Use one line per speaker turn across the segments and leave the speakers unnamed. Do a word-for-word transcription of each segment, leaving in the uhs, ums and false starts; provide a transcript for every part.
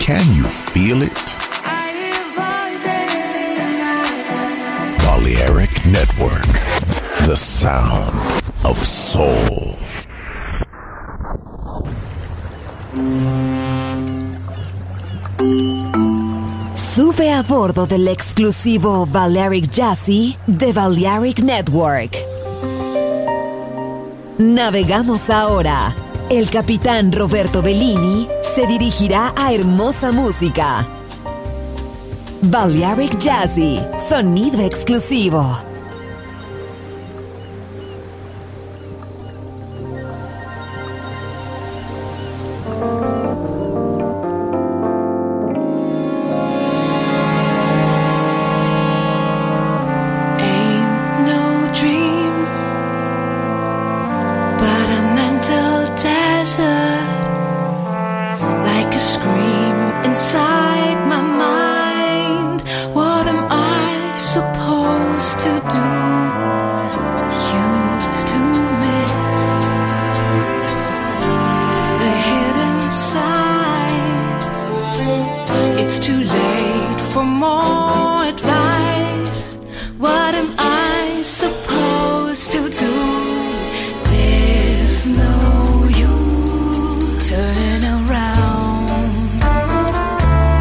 Can you feel it? Balearic Network, the sound of soul.
Sube a bordo del exclusivo Balearic Jazzy de Balearic Network. Navegamos ahora. El capitán Roberto Bellini se dirigirá a hermosa música. Balearic Jazzy, sonido exclusivo.
No use turning around.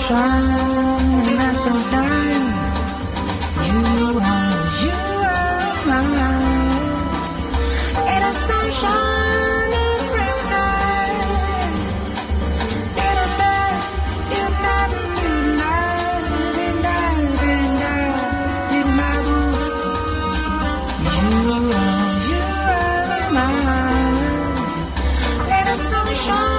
sunshine at the night. You are, you are my life. And the sunshine every night. In a night, in night, in night, in night, in night, in my room. You are, you are my life. Let the sunshine.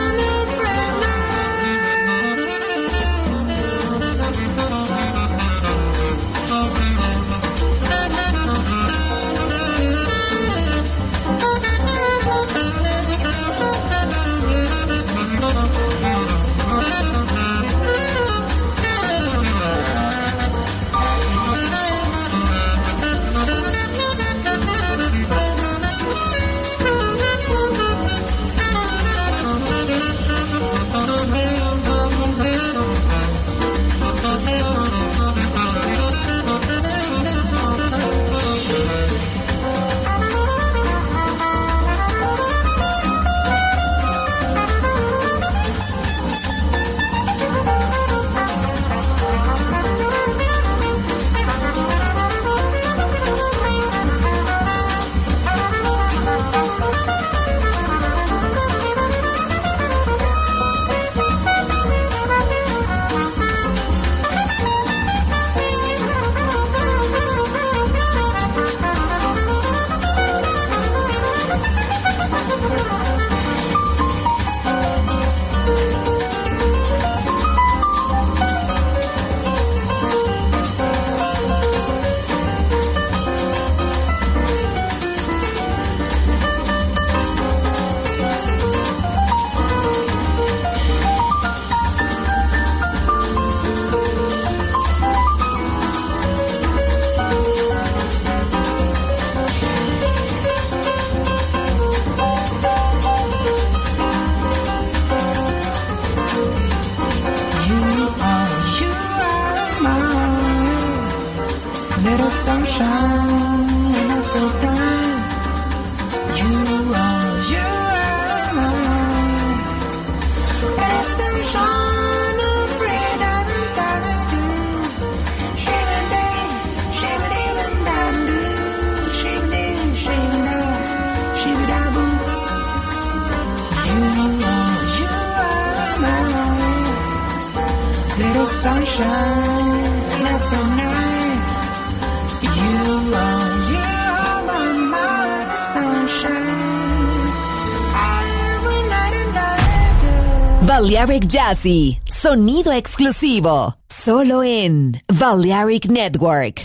Balearic Jazzy, sonido exclusivo, solo en Balearic Network.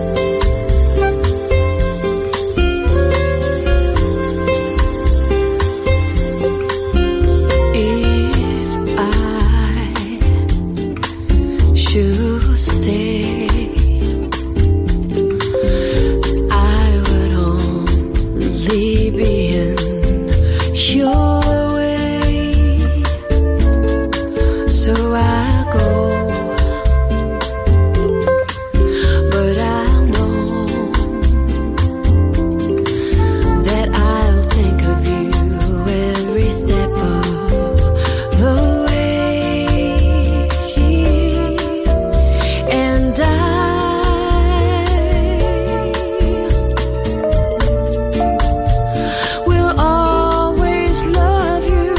If I should stay, I would only be in your so I go, but I know that I'll think of you every step of the way, and I will always love you.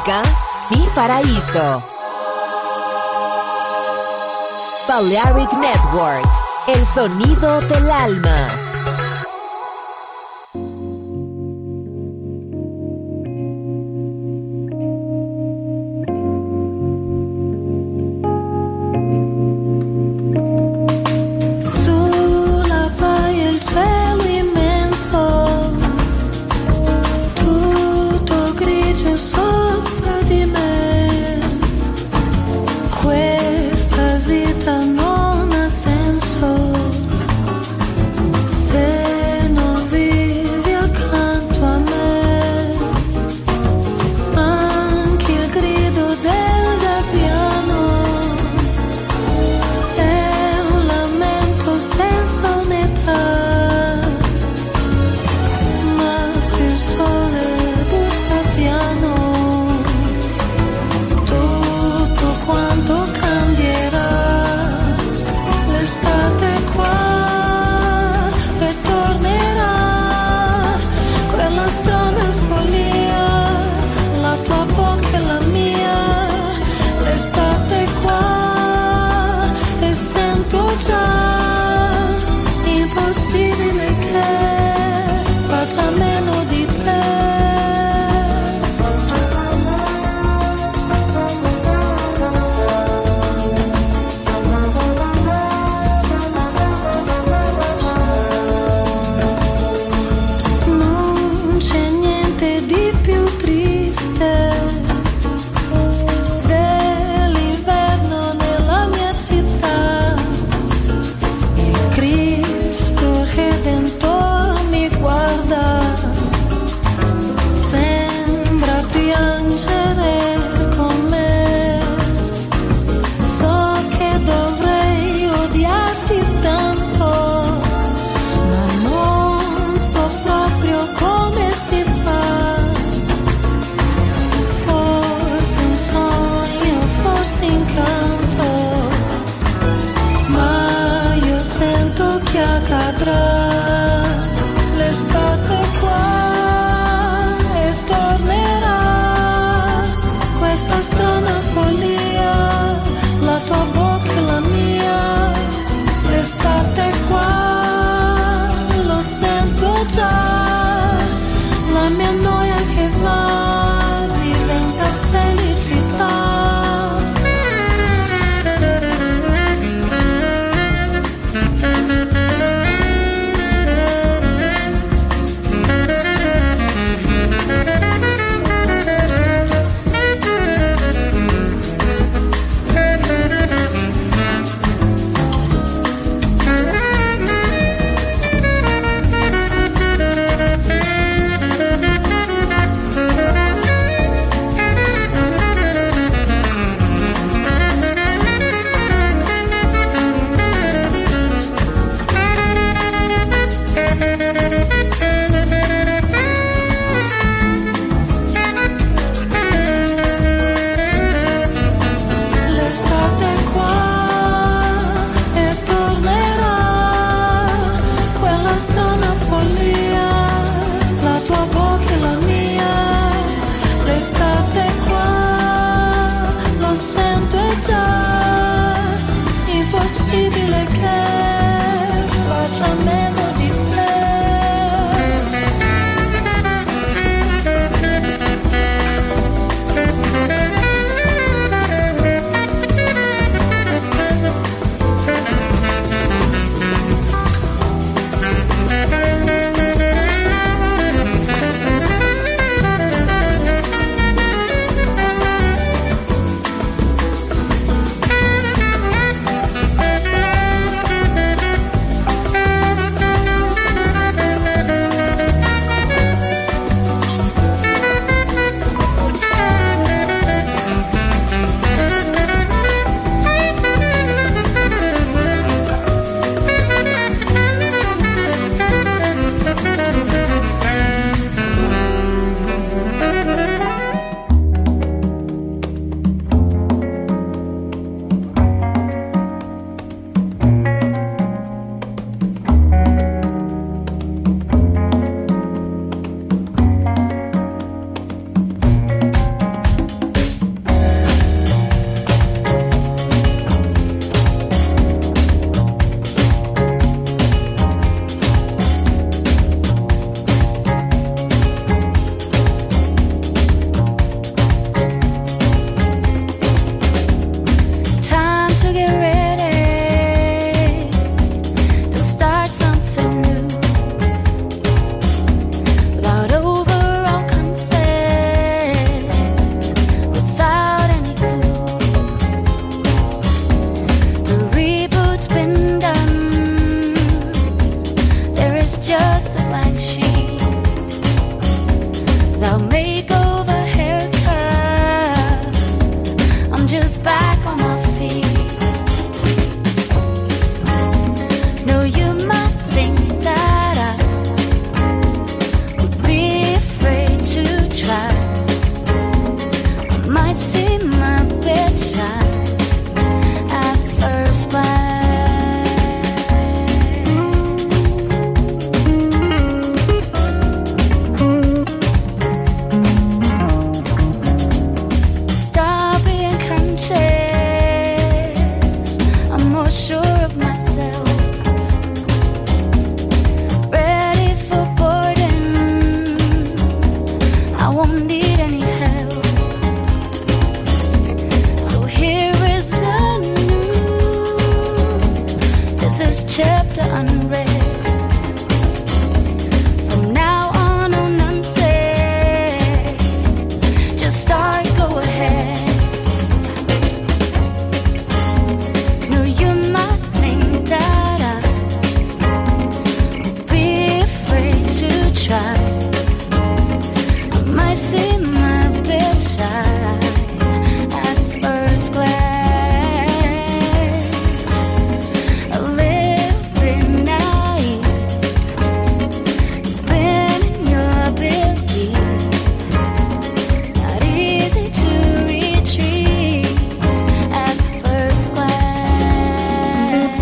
música, Mi Paraíso. Balearic Network, el sonido del alma.
might see my bedside at first glance. Stop being conscious. I'm more sure of myself. Ready for boarding. I won't need any help. So here is the news. This is chapter unread. From now on, no nonsense. Just start, go ahead. No, you might think that I'd be afraid to try. I might see my bedside at first glance. A little bit naive. Been in your belief. Not easy to retrieve at first glance.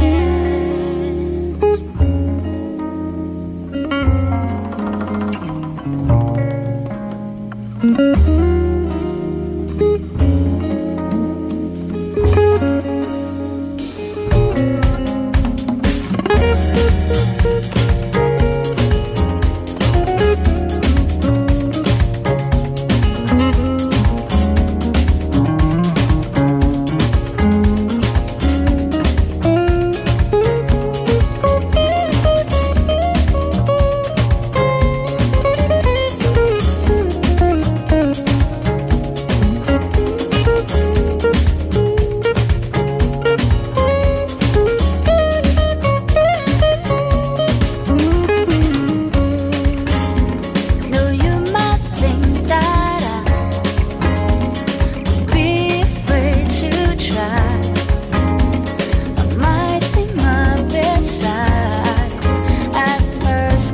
No, you might think that I'd be afraid to try. I might see my bedside at first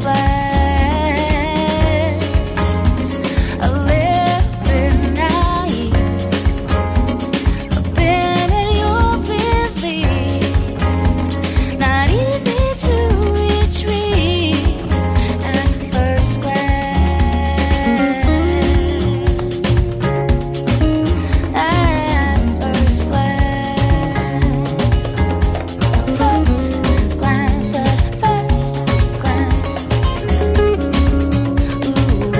glance. A little bit naive. I've been in your belief. Not easy to retrieve at first glance. At first glance. First glance at first glance. Ooh.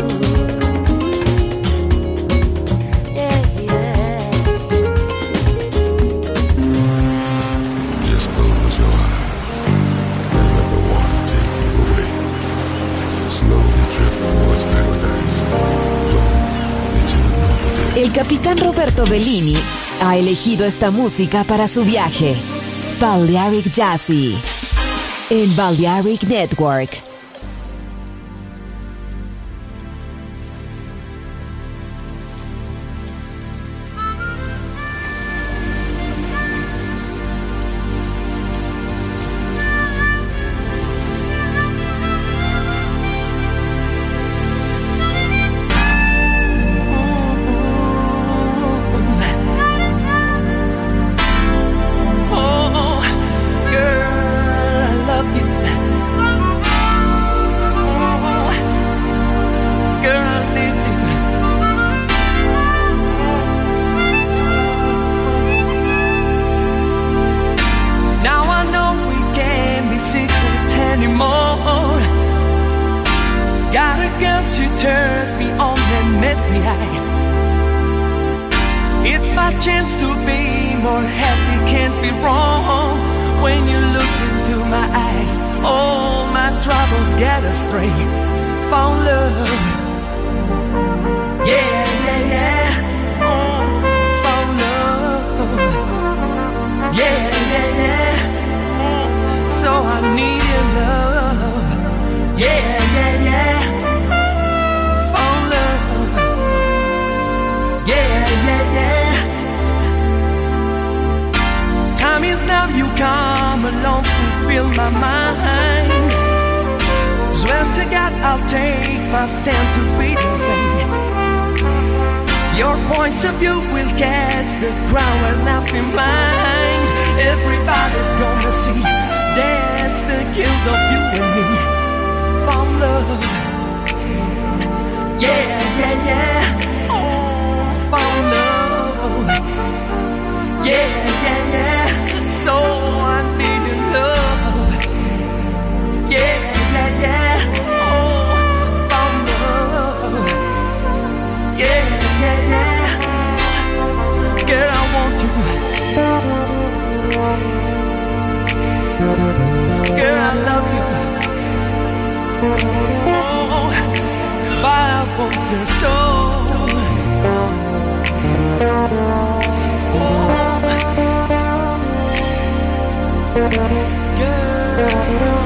Yeah, yeah.
Just close your eyes and let the water take you away. Slowly drift towards paradise. Flow into another day.
El capitán Roberto Bellini ha elegido esta música para su viaje. Balearic Jazzy en Balearic Network.
Oh, girl, I love you. She turns me on and makes me high. It's my chance to be more happy, can't be wrong. When you look into my eyes, all my troubles get astray. Found love, yeah, yeah, yeah. Oh, found love, yeah, yeah, yeah. So I need your love, yeah, yeah, yeah. Found love, yeah, yeah, yeah. Time is now, you come along, fulfill my mind. Swear to God, I'll take my stand to be the thing. Your points of view will cast the crown and nothing blind. Everybody's gonna see that's the guilt of you and me. Found love. Yeah, yeah, yeah. Oh, found love. Yeah, yeah, yeah. So I needed love. Yeah, yeah, yeah. Oh, found love. Yeah, yeah, yeah. Girl, I want you. Girl, I love you. Oh, but I want your soul. Oh, girl.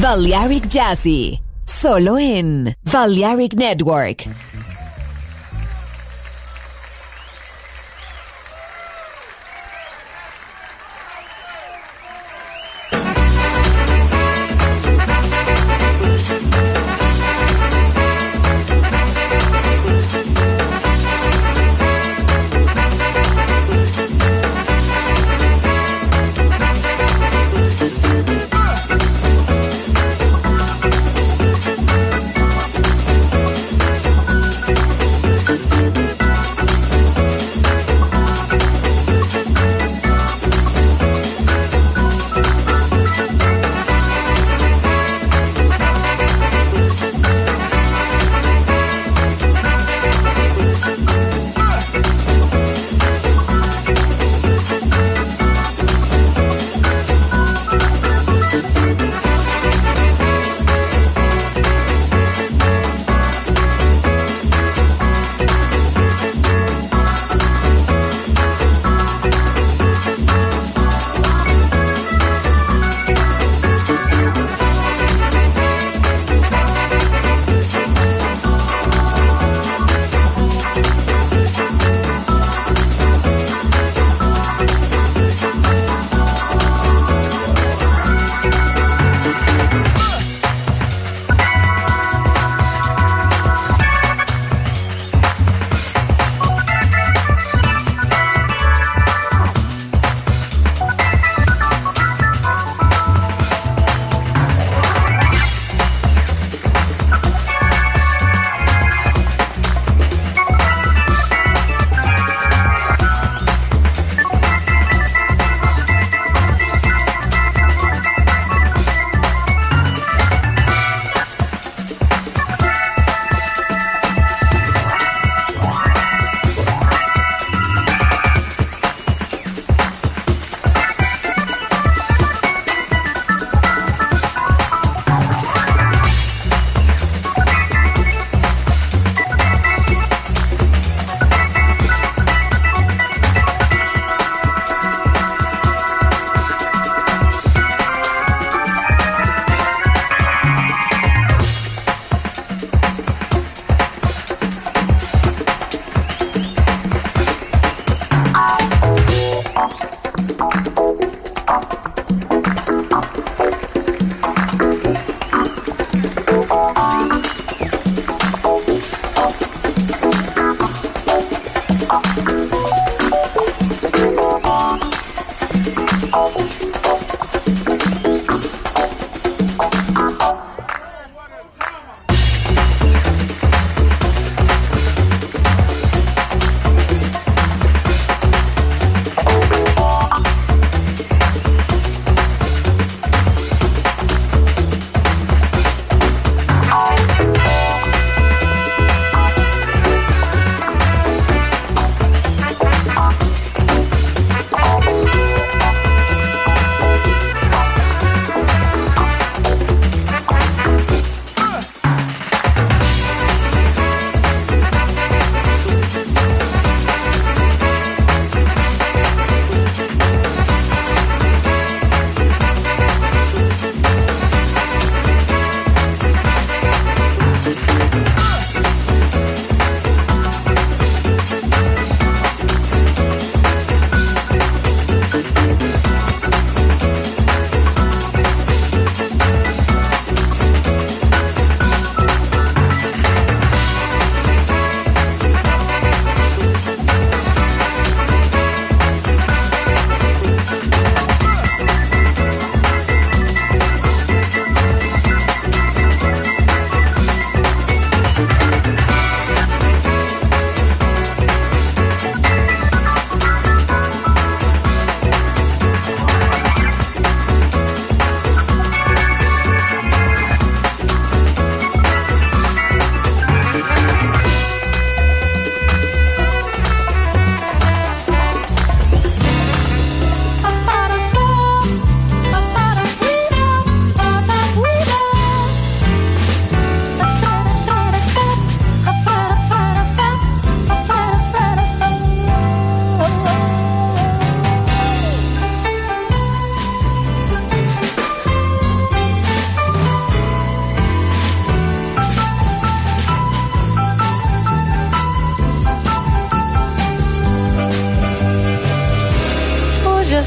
Balearic Jazzy, solo en Balearic Network.
Thank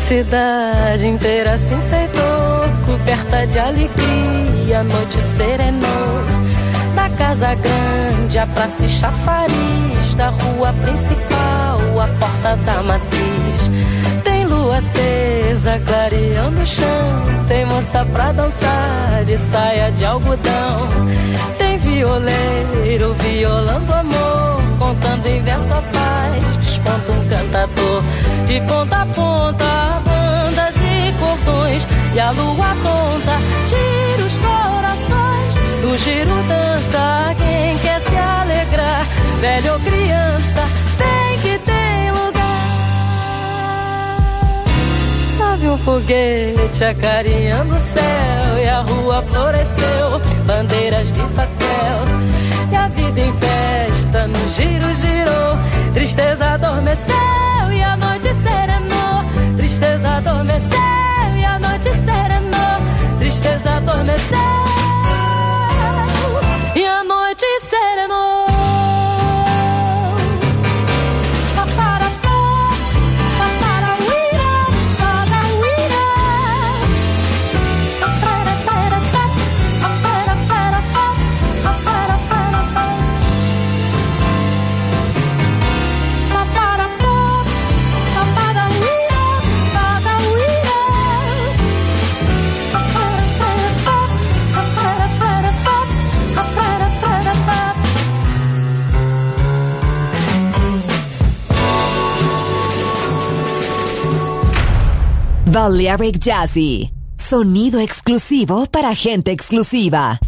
cidade inteira se enfeitou, coberta de alegria, a noite serenou. Da casa grande, a praça e chafariz, da rua principal, a porta da matriz. Tem lua acesa, clareando o chão, tem moça pra dançar de saia de algodão. Tem violeiro violando amor, contando em verso a paz, desponta um cantador. De ponta a ponta, bandas e cordões, e a lua conta, gira os corações. Do giro dança quem quer se alegrar, velho ou criança, tem que tem lugar. Sobe um foguete acarinhando o céu, e a rua floresceu, bandeiras de papel. E a vida em festa no giro girou, tristeza adormeceu e a noite serenou. Tristeza adormeceu e a noite serenou. Tristeza adormeceu e a noite serenou.
Balearic Jazzy, sonido exclusivo para gente exclusiva.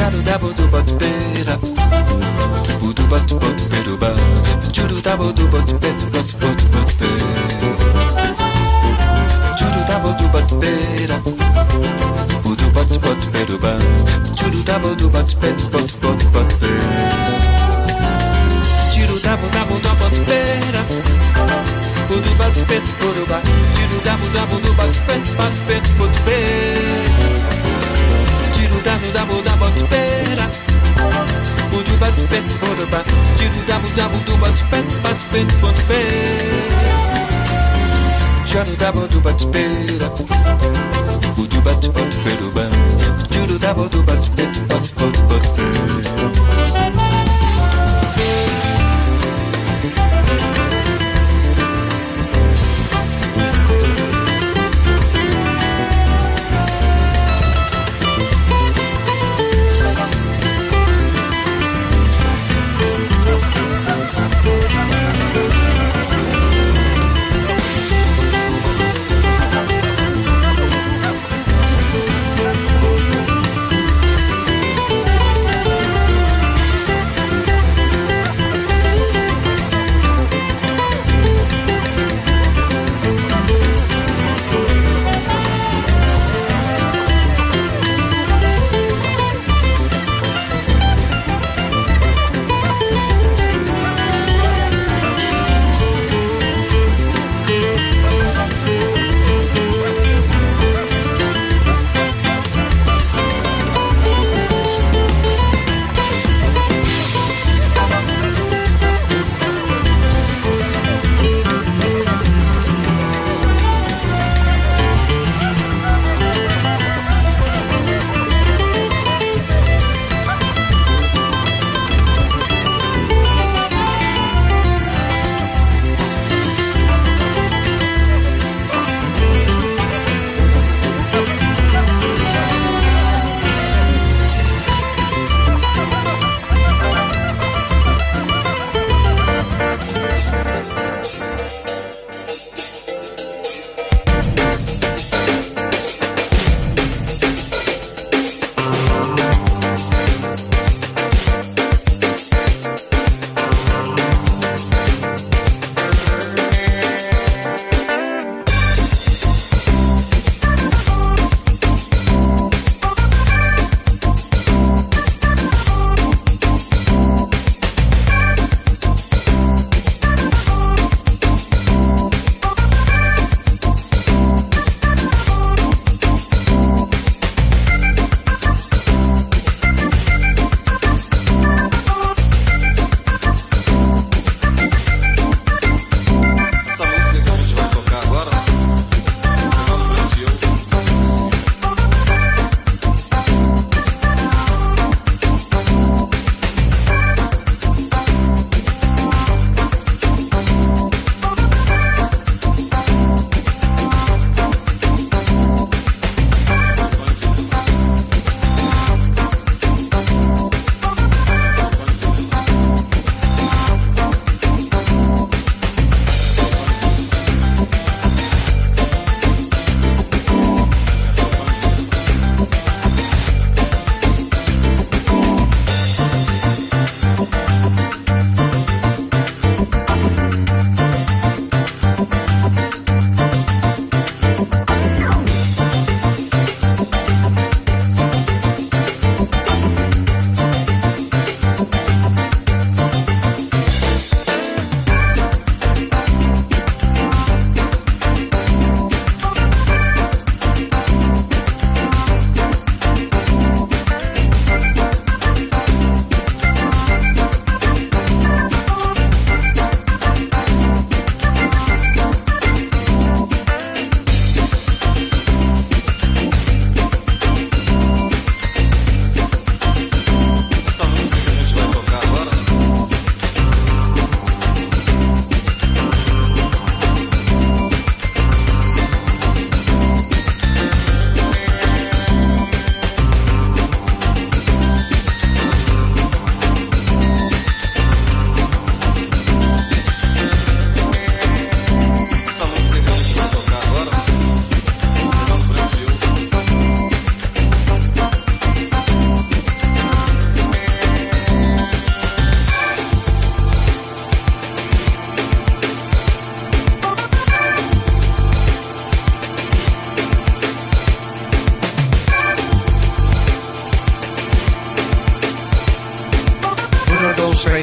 Chadu dabu du but bera. Udu but but beruba. Judu dabu du but bet but but but be. Judu dabu du but bera. Udu but but beruba. Judu dabu du but bet but but but be. Judu dabu dabu du but bera. Udu but bet beruba. Judu dabu dabu du but bet but bet but be. Dabu dabu dabu spera, udu bat pet poruba, jiru dabu dabu du bat pet bat pet pot pe. Jiru dabu du bat spera, udu bat pot peruba, jiru dabu du bat pet pot pot pot pe.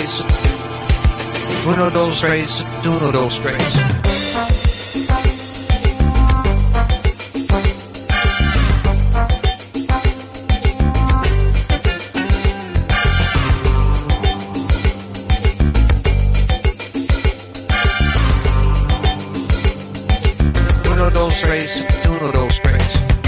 tres. Uno, dos, tres. Uno, dos, tres. Uno, dos, tres. Uno, dos, tres.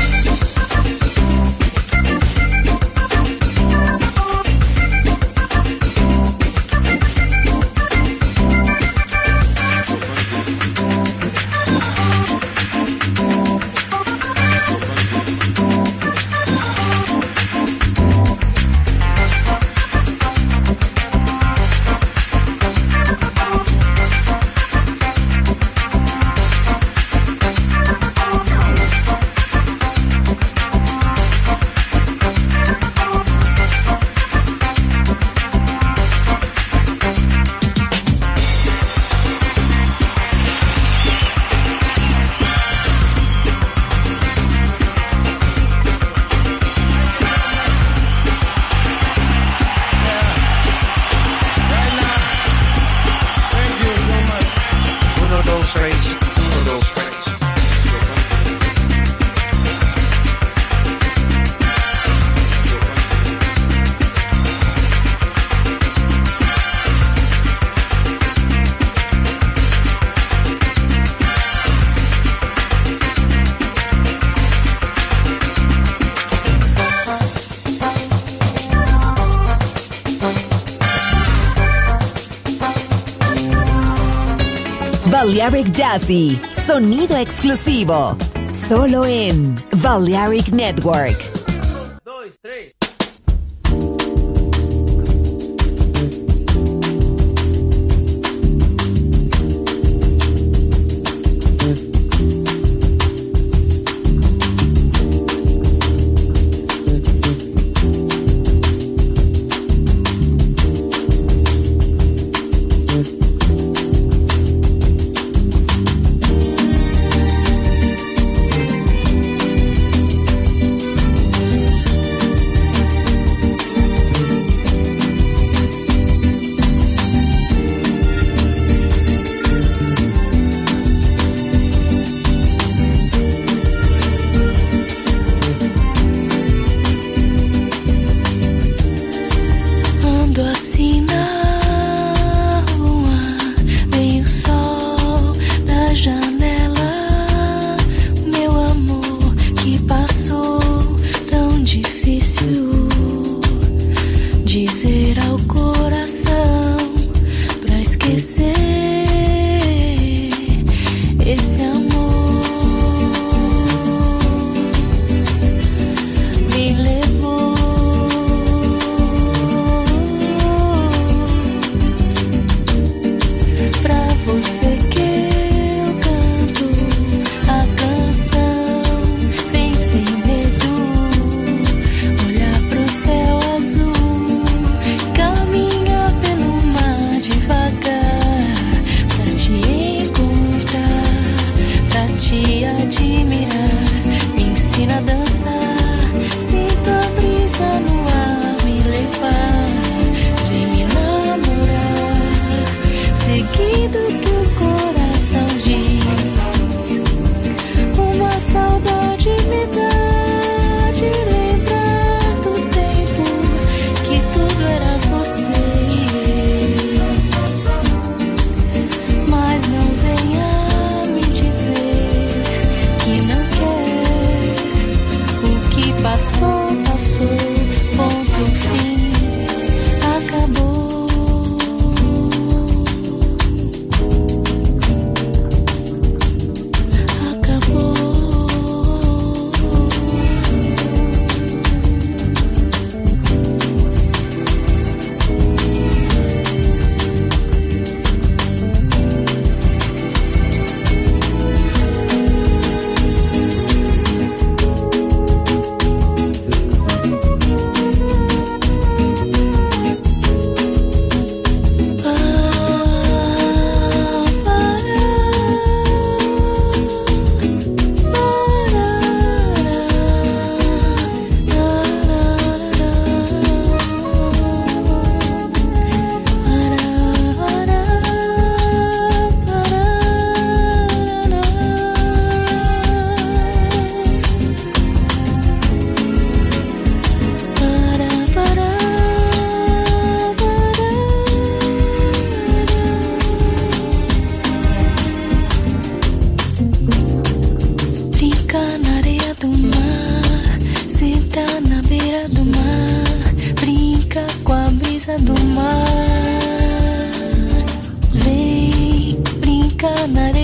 Balearic Jazzy, sonido exclusivo, solo en Balearic Network.
Dos, tres.
Acabou.
na